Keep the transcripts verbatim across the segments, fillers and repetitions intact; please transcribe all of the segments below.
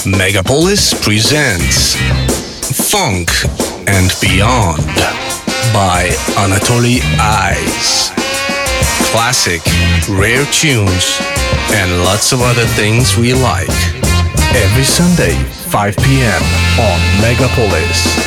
Megapolis presents Funk and Beyond by Anatoly Ice. Classic, rare tunes, and lots of other things we like. Every Sunday, five p.m. on Megapolis.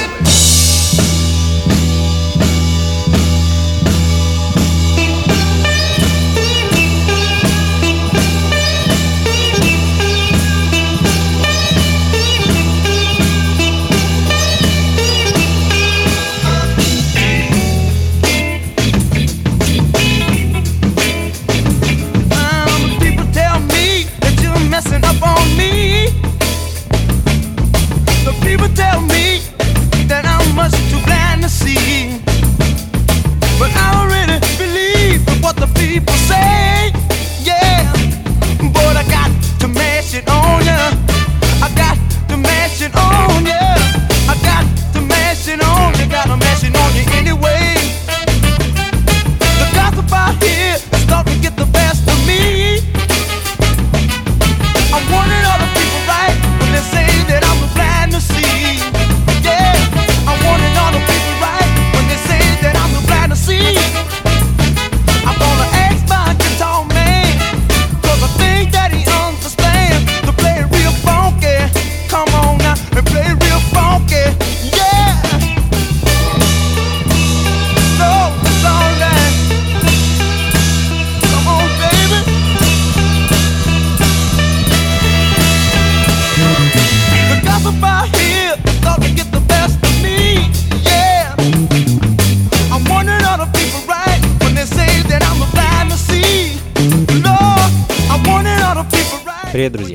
Привет, друзья!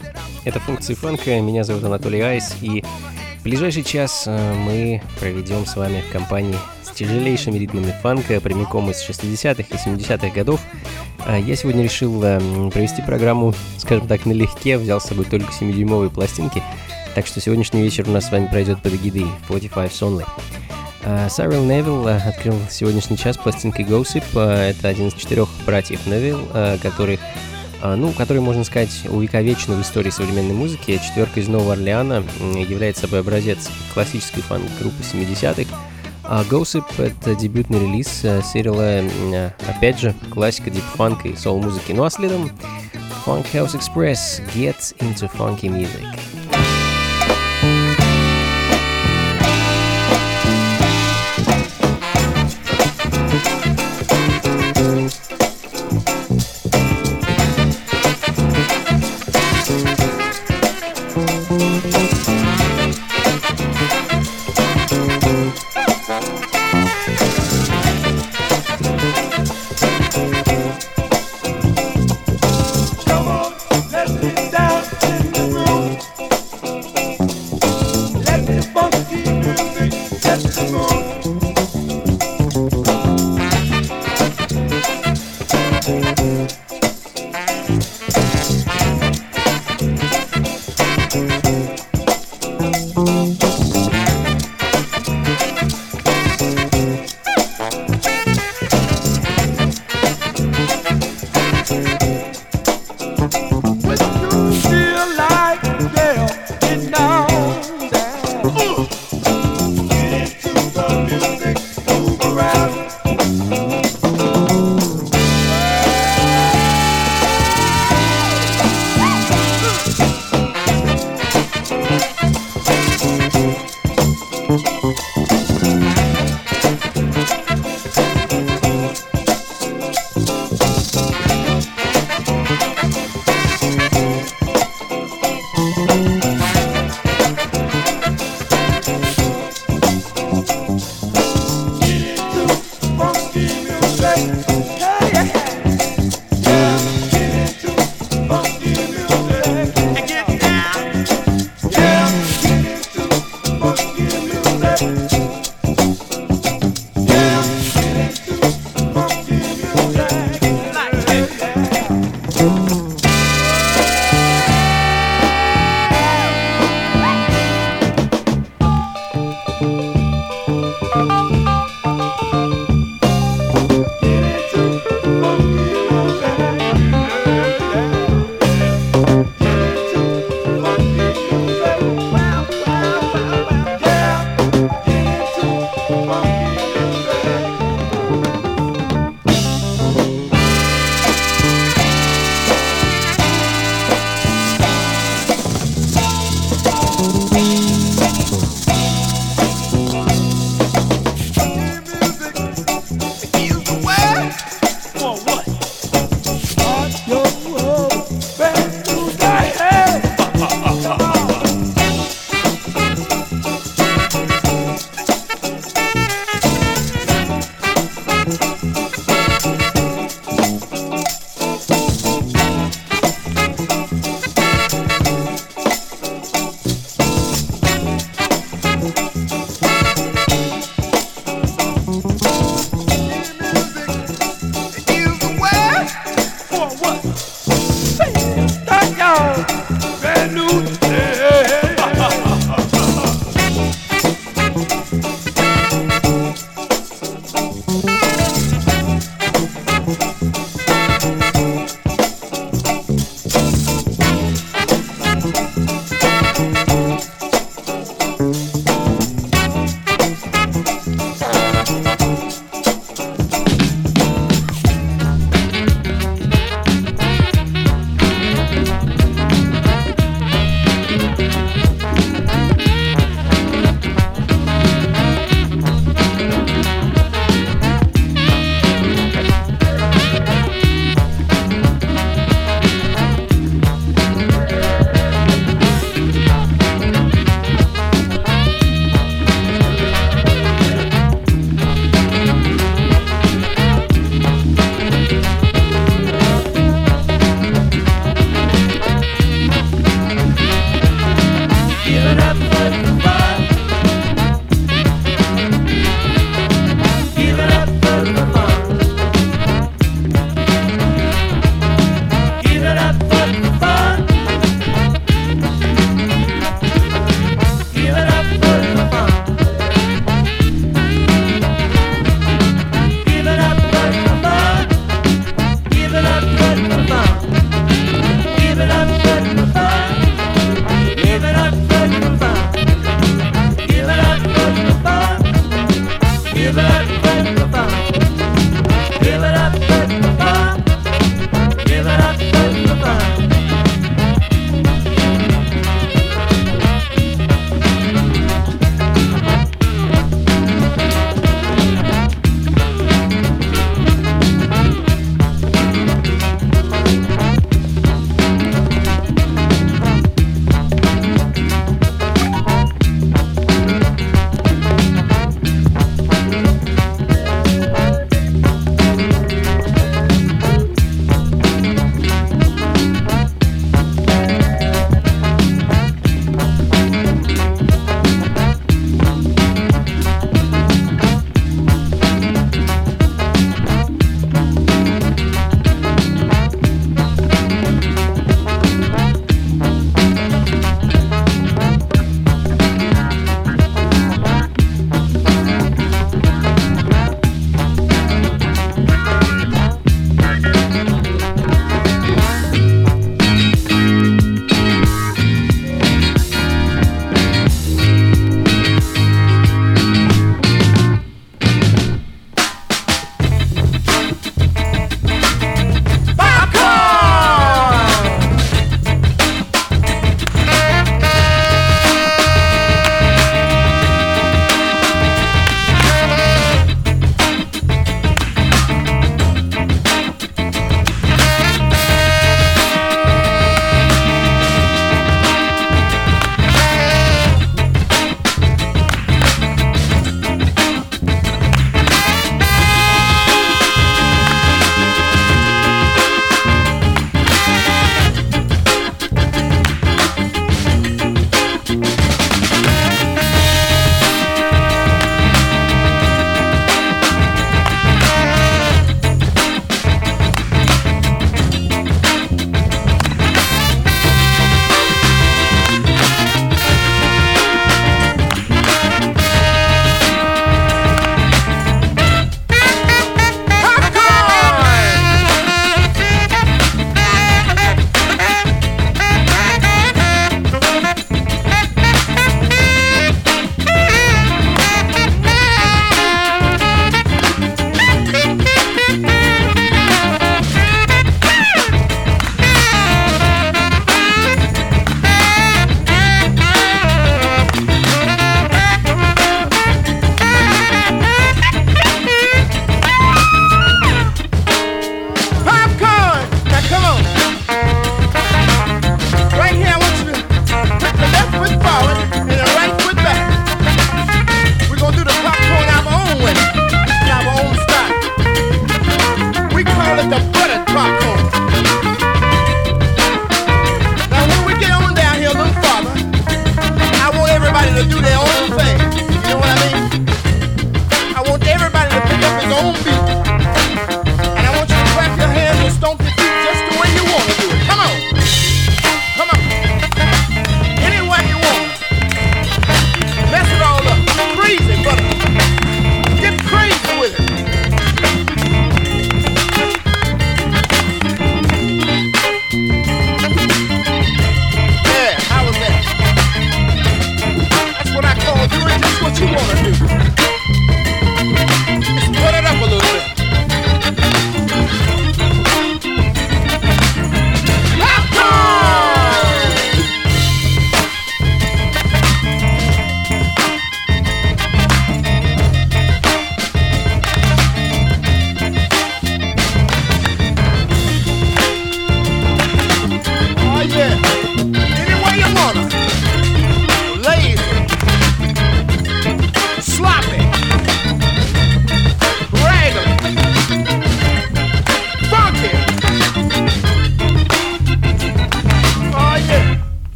Это функции фанка, меня зовут Анатолий Айс, и в ближайший час мы проведем с вами в компании с тяжелейшими ритмами фанка, прямиком из шестидесятых и семидесятых годов. Я сегодня решил провести программу, скажем так, налегке, взял с собой только семидюймовые пластинки, так что сегодняшний вечер у нас с вами пройдет под эгидой сорок пять Only. Сайрил Невилл открыл сегодняшний час пластинкой Gossip. Это один из четырех братьев Невилл, который Ну, который, можно сказать, увековечен в истории современной музыки. Четверка из Нового Орлеана является собой образец классической фанк-группы семидесятых. А Gossip — это дебютный релиз Сайрила, опять же, классика дип-фанка и соул-музыки. Ну а следом Funk House Express Get Into Funky Music. Come on, let's get down in the groove.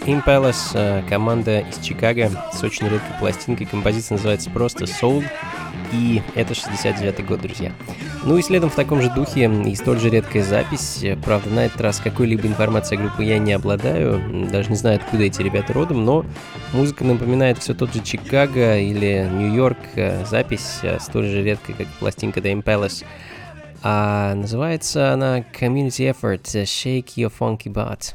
Impalace, команда из Чикаго с очень редкой пластинкой. Композиция называется просто Soul, и это шестьдесят девятый год, друзья. Ну и следом в таком же духе и столь же редкая запись. Правда, на этот раз какой-либо информацией о группе я не обладаю, даже не знаю, откуда эти ребята родом, но музыка напоминает все тот же Чикаго или Нью-Йорк. Запись столь же редкая, как пластинка The Impalace. А называется она Community Effort, Shake Your Funky Butt.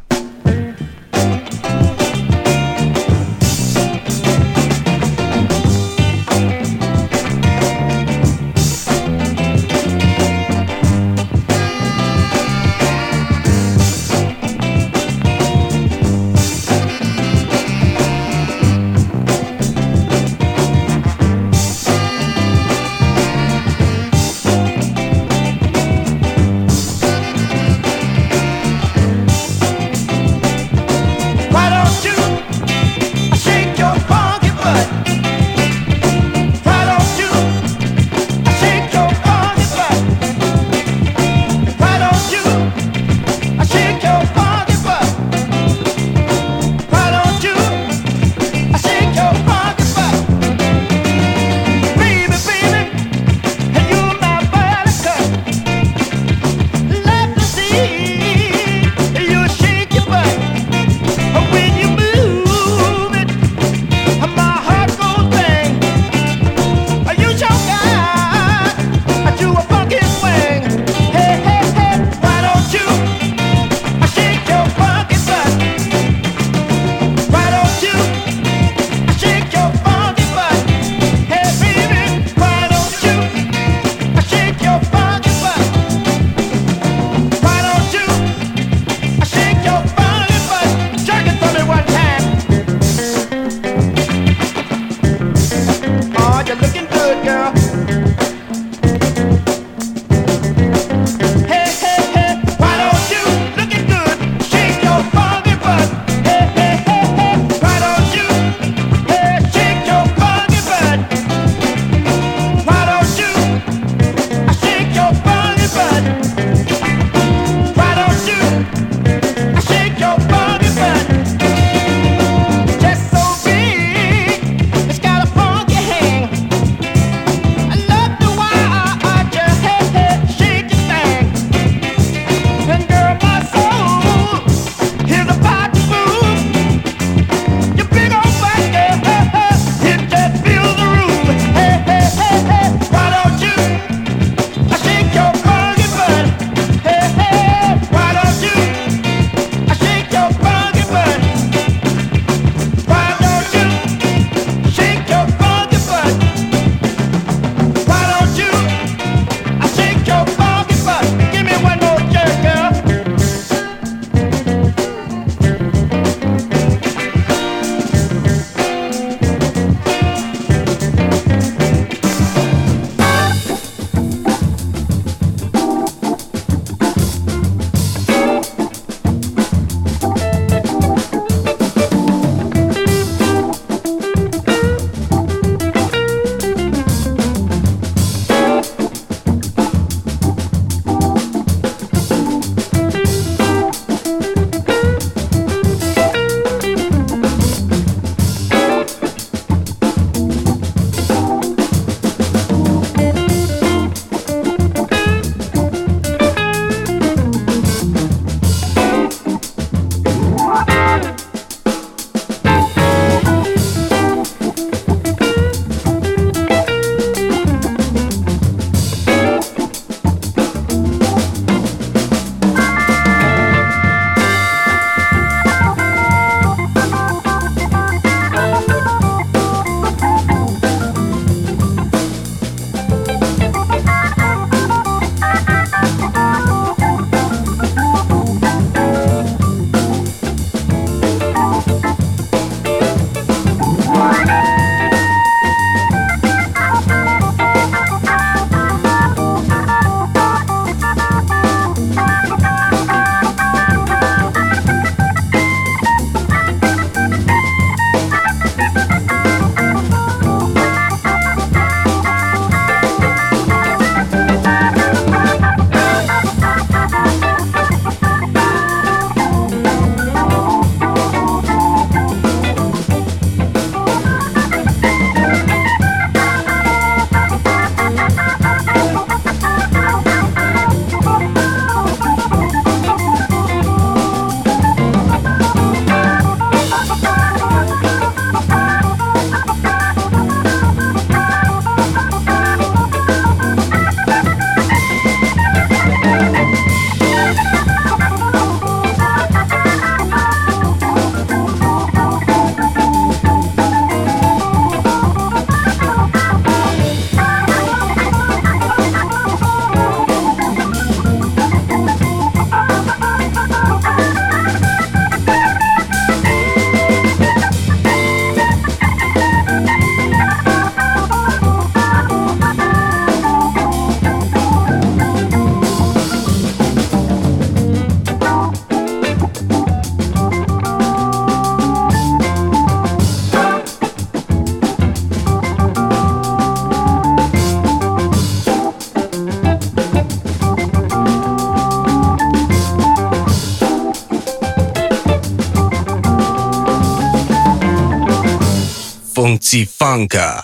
Funky Funka.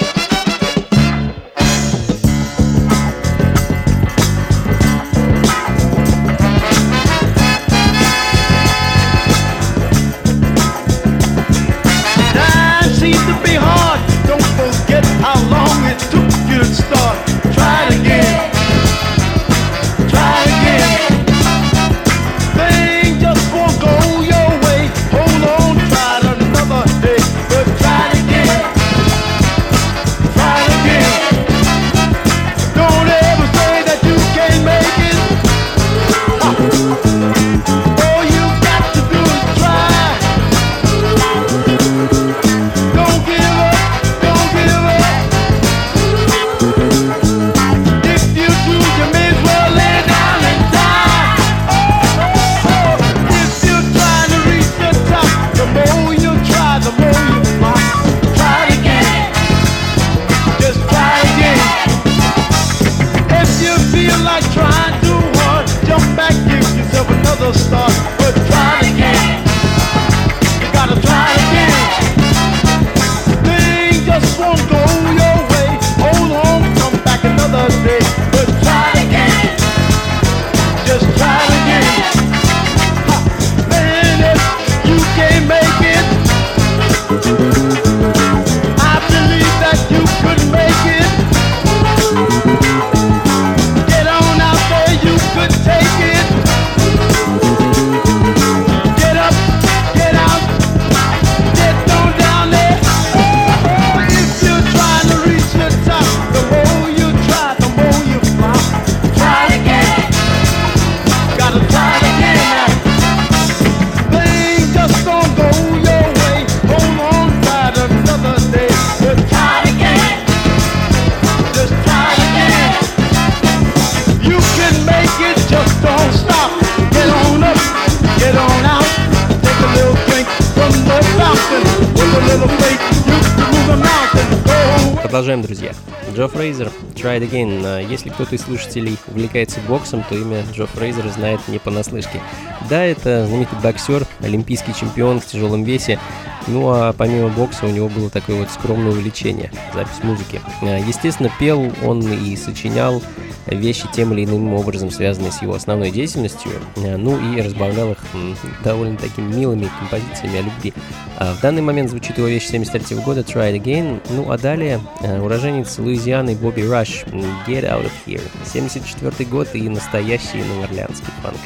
Продолжаем, друзья. Джо Фрейзер, Try It Again. Если кто-то из слушателей увлекается боксом, то имя Джо Фрейзера знает не понаслышке. Да, это знаменитый боксер, олимпийский чемпион в тяжелом весе. Ну а помимо бокса у него было такое вот скромное увлечение — запись музыки. Естественно, пел он и сочинял вещи тем или иным образом, связанные с его основной деятельностью, ну и разбавлял их довольно такими милыми композициями о любви. В данный момент звучит его вещь семьдесят третьего года Try It Again. Ну а далее уроженец Луизианы Бобби Раш Get Out of Here. семьдесят четвёртый год и настоящий новоорлеанский фанк.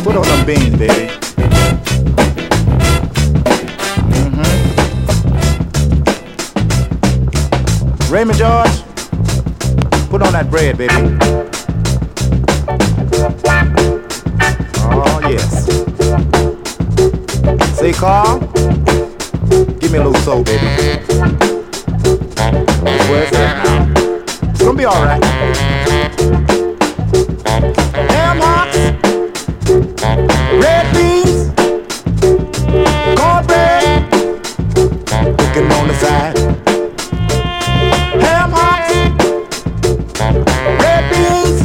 Put on them beans, baby. Mm-hmm. Raymond George, put on that bread, baby. Oh, yes. Say, Carl, give me a little soul, baby. Where's that now? It's gonna be all right. Ham hocks, red beans, cornbread, cooking on the side. Ham hocks, red beans,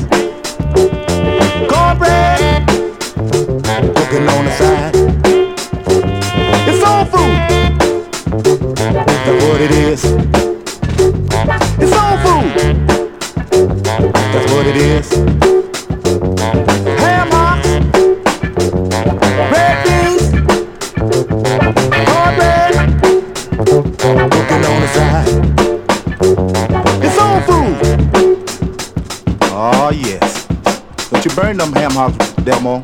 cornbread, cooking on the side. It's soul food. That's what it is. It's soul food. That's what it is. Ham hocks, red beans, cornbread, cooking on the side. It's soul food. Oh yes. Don't you burn them ham hocks, Delmo.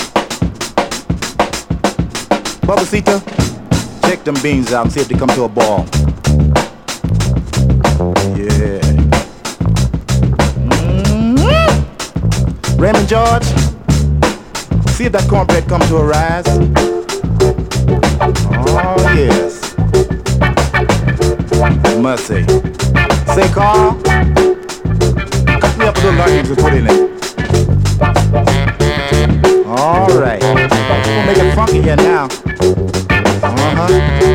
Babacita, check them beans out and see if they come to a ball. Yeah. Mm-hmm. Raymond George, see if that cornbread comes to a rise. Oh yes. Must say. Say, Carl, cut me up a little onions and put in it. All right. We'll make it funky here now. Uh-huh.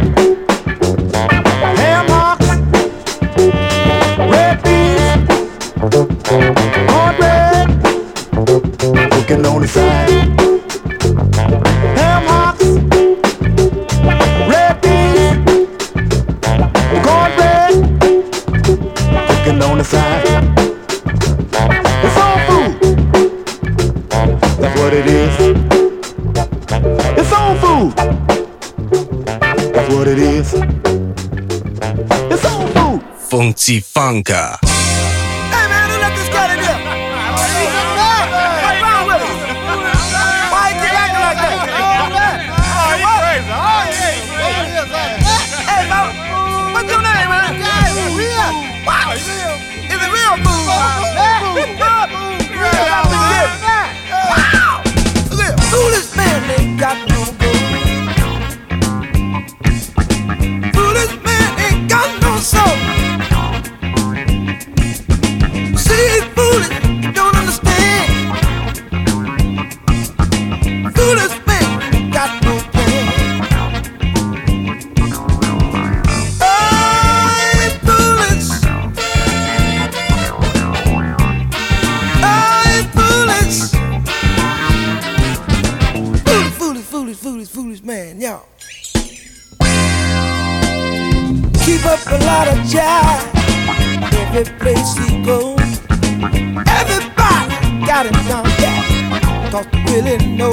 Ham hocks, red beans, cornbread, cooking on the side. Ham hocks, red beans, cornbread, cooking on the side. It's all food. That's what it is. It's soul food. That's what it is. It's soul food. Funky Funka. Hey man, who let this guy in here? What's wrong with him? Why he keep acting like that? Oh, he's crazy. Hey, man, what's your name, man? What? Is it real food? Wow! Foolish man ain't got no gold. Foolish man ain't got no soul. See, he's foolish, you don't understand. Foolish man ain't got no plan. Oh, he's foolish. Oh, he's foolish. Foolish, foolish, foolish, foolish man, y'all. Keep up a lot of jive every place he goes. Everybody got him down pat, cause they really know.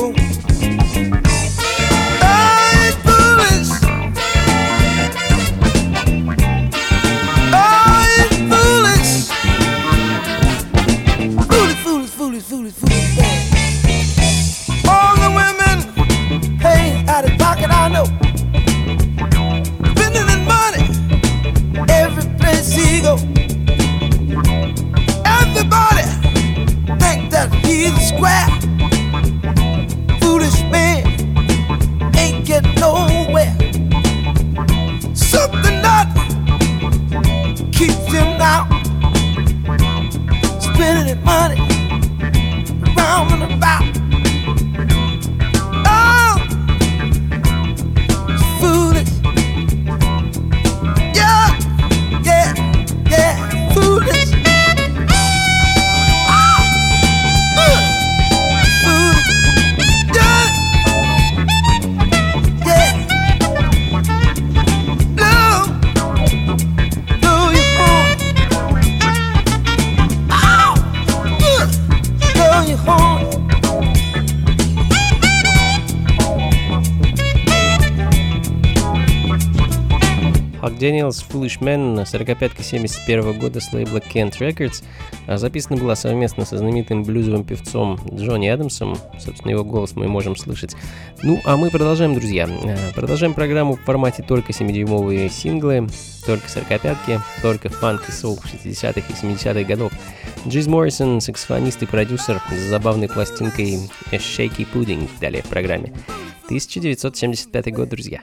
Oh, he's foolish. Oh, he's foolish. Foolish, foolish, foolish, foolish, foolish man. All the women paying out of pocket, I know. Spending his money every place he go. Everybody think that he's a square. Jack Daniels Foolish Man, сорокапятка семьдесят первого года с лейбла Kent Records. Записана была совместно со знаменитым блюзовым певцом Джонни Адамсом. Собственно, его голос мы можем слышать. Ну, а мы продолжаем, друзья. Продолжаем программу в формате только семидюймовые синглы, только сорокапятки, только фанк и соул шестидесятых и семидесятых годов. Джиз Моррисон, саксофонист и продюсер, с забавной пластинкой Shaky Pudding далее в программе. тысяча девятьсот семьдесят пятый год, друзья.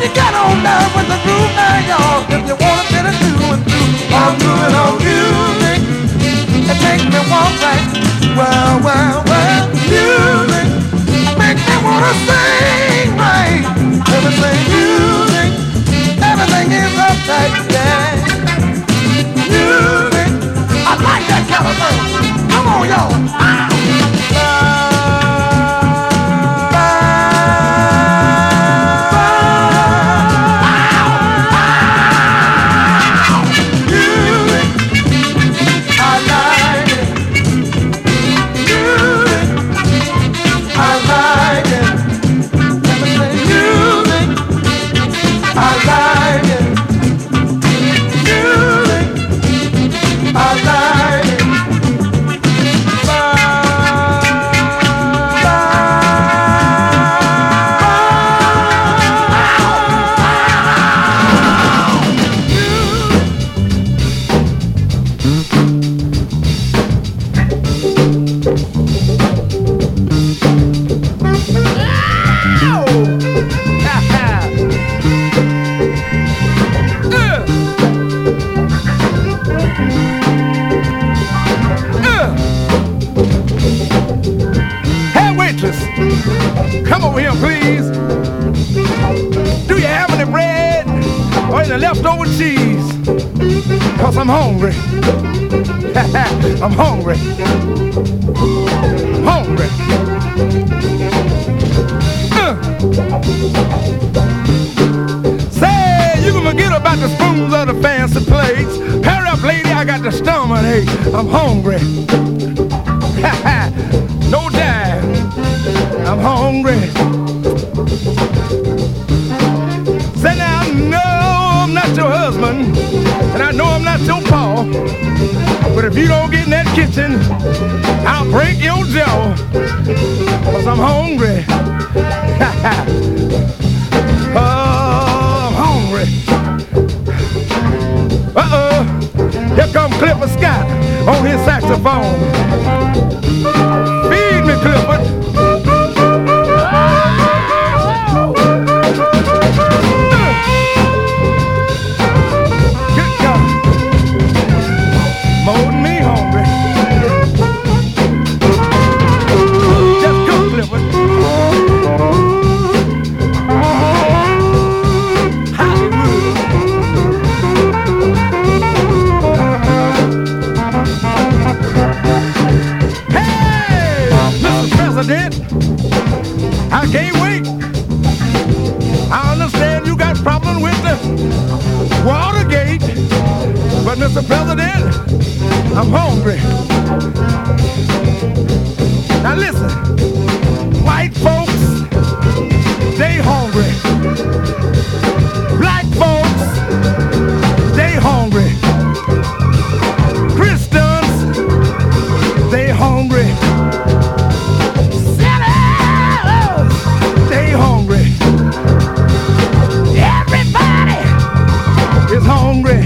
you get on down with the groove now, y'all. If you want to get it through and through, I'm doing on music. It makes me walk right. Well, well, well, music makes me wanna sing right. Everything music, everything is uptight, yeah. Music, I like that kind of thing. Come on, y'all. Ah. Come over here, please. Do you have any bread or any leftover cheese? Cause I'm hungry. I'm hungry. I'm hungry. Uh. Say, you can forget about the spoons or the fancy plates. Hurry up, lady, I got the stomach ache. I'm hungry. No doubt. I'm hungry. Say now, I know I'm not your husband, and I know I'm not your pa, but if you don't get in that kitchen, I'll break your jaw, cause I'm hungry. Oh, I'm hungry. Uh-oh, here come Clifford Scott on his saxophone. Feed me, Clifford. I can't wait. I understand you got problems with the Watergate, but Mister President, I'm hungry. Now listen, white folks, they hungry. Black folks, they hungry. Christians, they hungry. Hungry,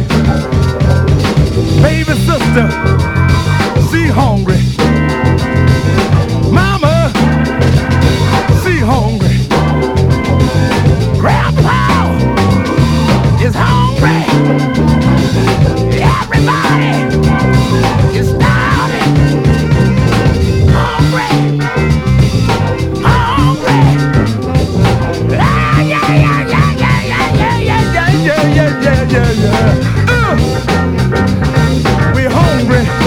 baby sister, she hungry. Mama, she hungry. Grandpa is hungry. Everybody is starving. Hungry, hungry. Ah, yeah, yeah, yeah, yeah, yeah, yeah, yeah, yeah, yeah, yeah, yeah, yeah, yeah. Uh, we're hungry.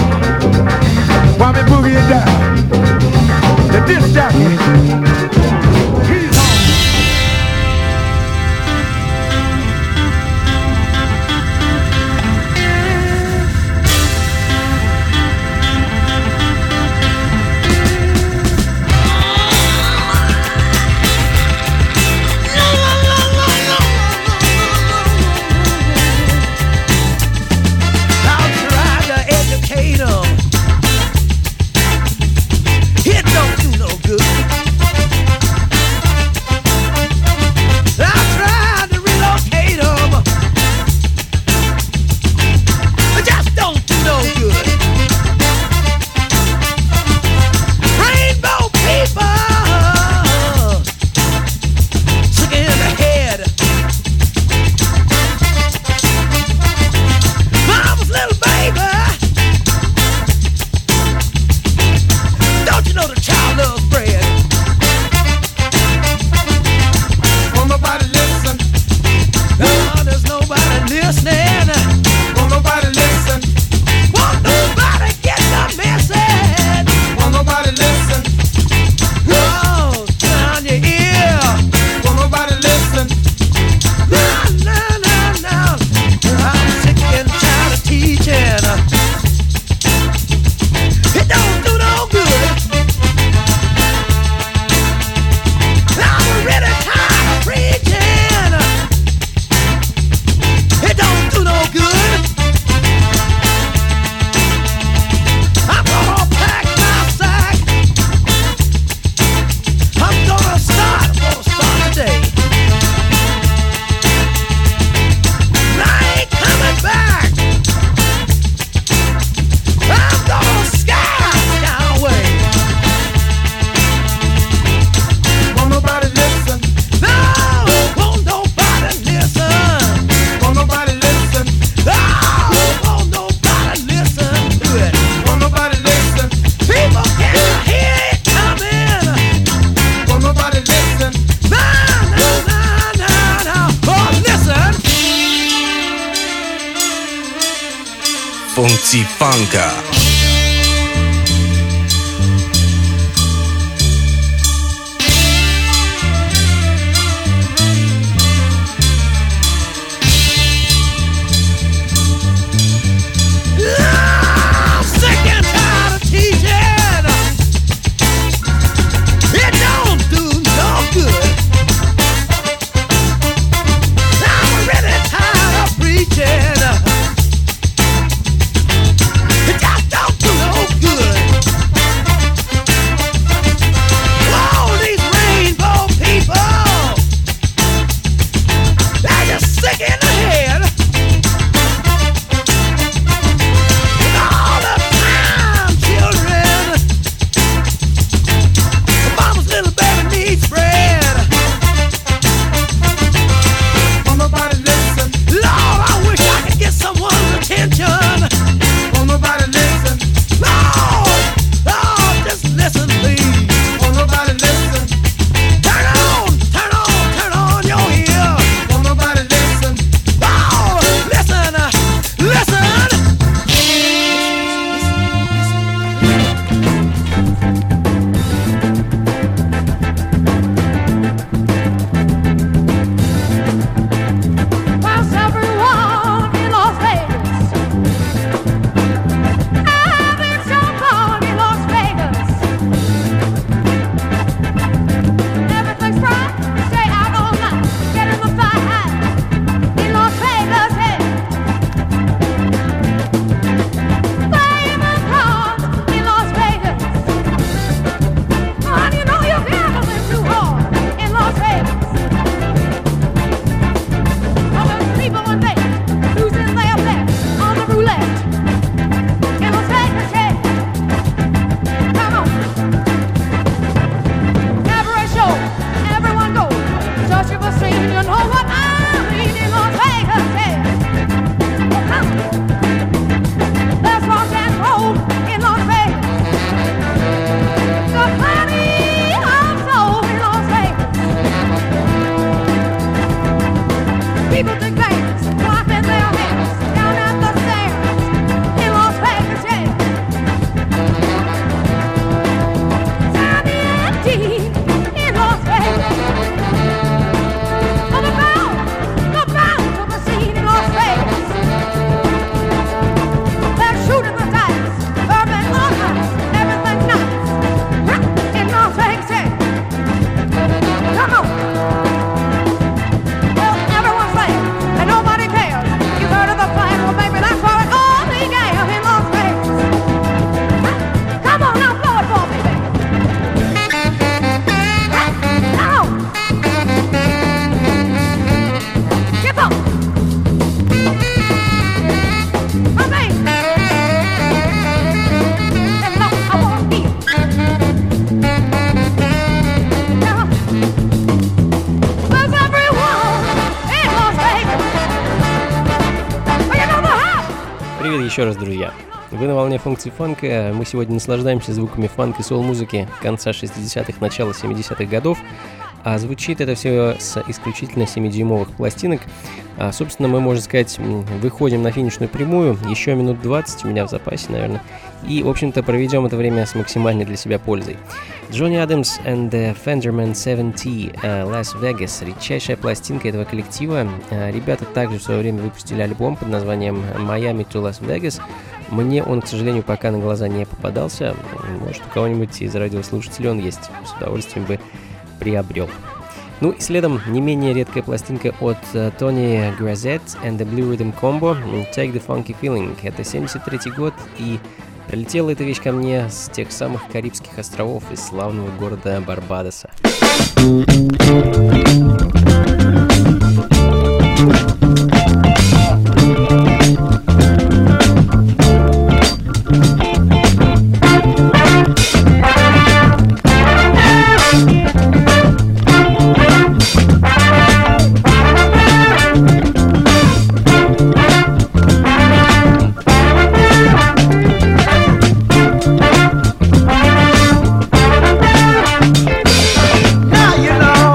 Funky Funka. Еще раз, друзья, вы на волне функции фанка. Мы сегодня наслаждаемся звуками фанк и соул-музыки конца шестидесятых, начала семидесятых годов. А звучит это все с исключительно семидюймовых пластинок. А, собственно, мы, можно сказать, выходим на финишную прямую. Еще минут двадцать у меня в запасе, наверное. И, в общем-то, проведем это время с максимальной для себя пользой. Джонни Адамс and the Fenderman семь ти uh, Las Vegas. Редчайшая пластинка этого коллектива. Uh, ребята также в свое время выпустили альбом под названием Miami to Las Vegas. Мне он, к сожалению, пока на глаза не попадался. Может, у кого-нибудь из радиослушателей он есть. С удовольствием бы приобрел. Ну и следом не менее редкая пластинка от Тони uh, Гразет and the Blue Rhythm Combo Take the Funky Feeling. Это семьдесят третий год, и прилетела эта вещь ко мне с тех самых Карибских островов из славного города Барбадоса. Now you know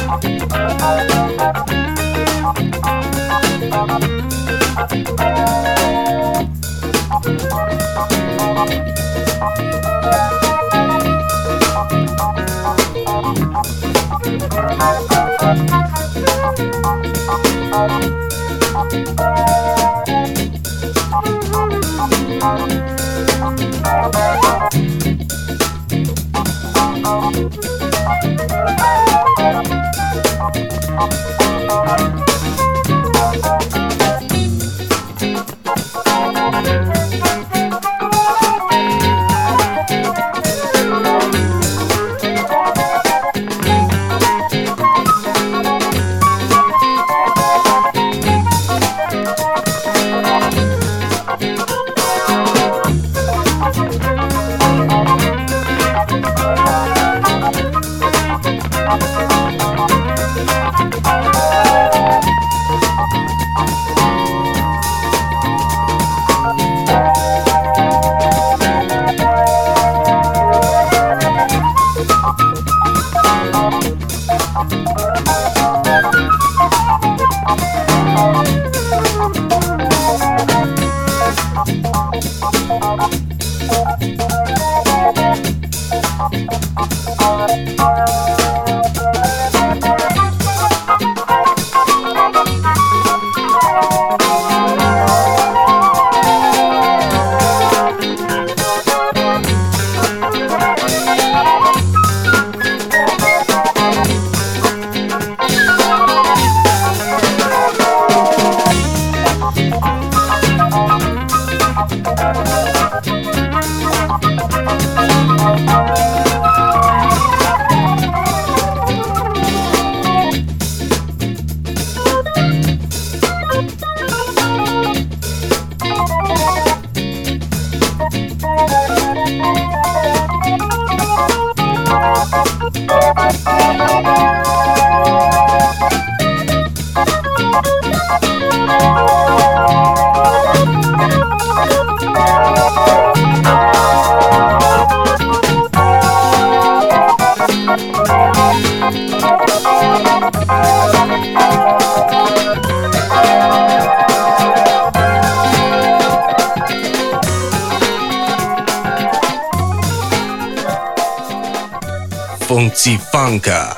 Funky Funka.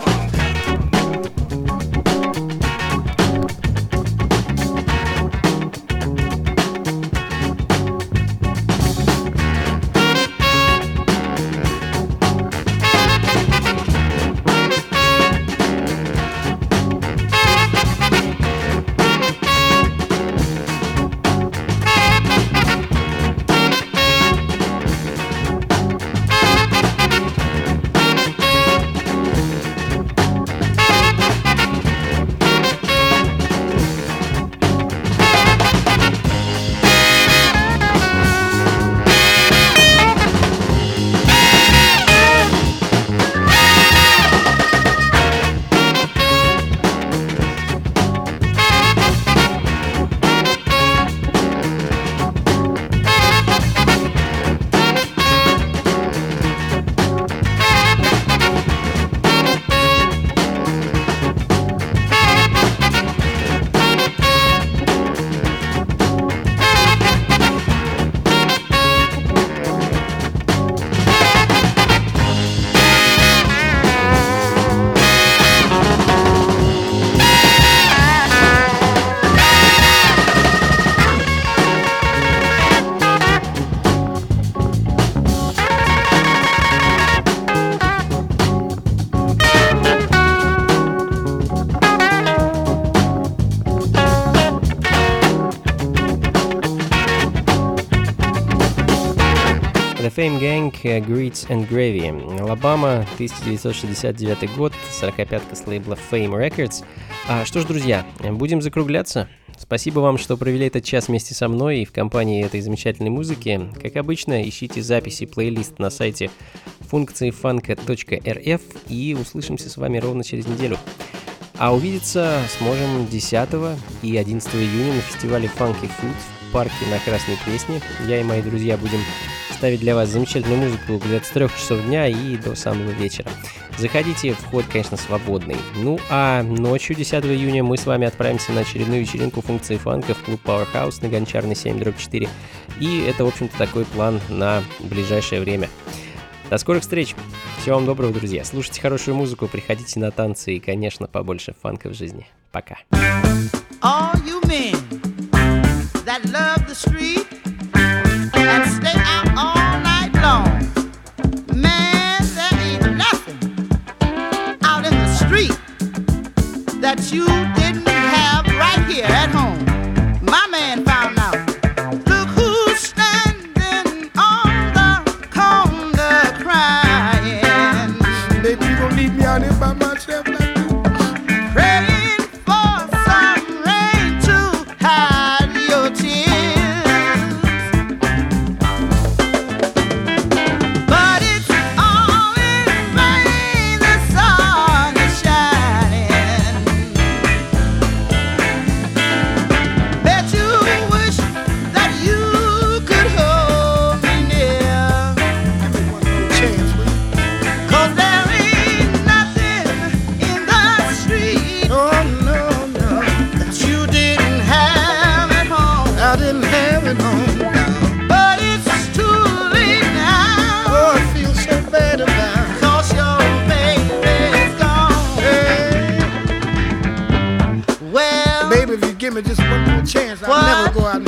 The Fame Gang, Grits and Gravy. Алабама, тысяча девятьсот шестьдесят девятый год, сорокапятка с лейбла Fame Records. А, что ж, друзья, будем закругляться. Спасибо вам, что провели этот час вместе со мной и в компании этой замечательной музыки. Как обычно, ищите записи, плейлист на сайте функции фанка точка эр эф и услышимся с вами ровно через неделю. А увидеться сможем десятого и одиннадцатого июня на фестивале Funky Food в парке на Красной Пресне. Я и мои друзья будем ставить для вас замечательную музыку где-то с трех часов дня и до самого вечера. Заходите, вход, конечно, свободный. Ну а ночью десятого июня мы с вами отправимся на очередную вечеринку функции фанка в клуб Powerhouse на Гончарной семь дробь четыре. И это, в общем-то, такой план на ближайшее время. До скорых встреч! Всего вам доброго, друзья! Слушайте хорошую музыку, приходите на танцы и, конечно, побольше фанка в жизни. Пока! All you men that love the street and stay out all night long, man, there ain't nothing out in the street that you didn't have right here at home. My man found out. Look who's standing on the corner crying. Baby, you gon' leave me out here by myself like that? Praying for some rain to hide your tears. But it's all in vain, the sun is shining. Bet you wish that you could hold me near. Give me one more chance, will you? 'Cause there ain't nothing in the street Oh, no, no. that you didn't have at home. I didn't have it home. But it's too late now, Oh, I feel so bad about it. 'cause your baby's gone. Hey, Well, baby, if you give me just one more chance, I'll What? never go out and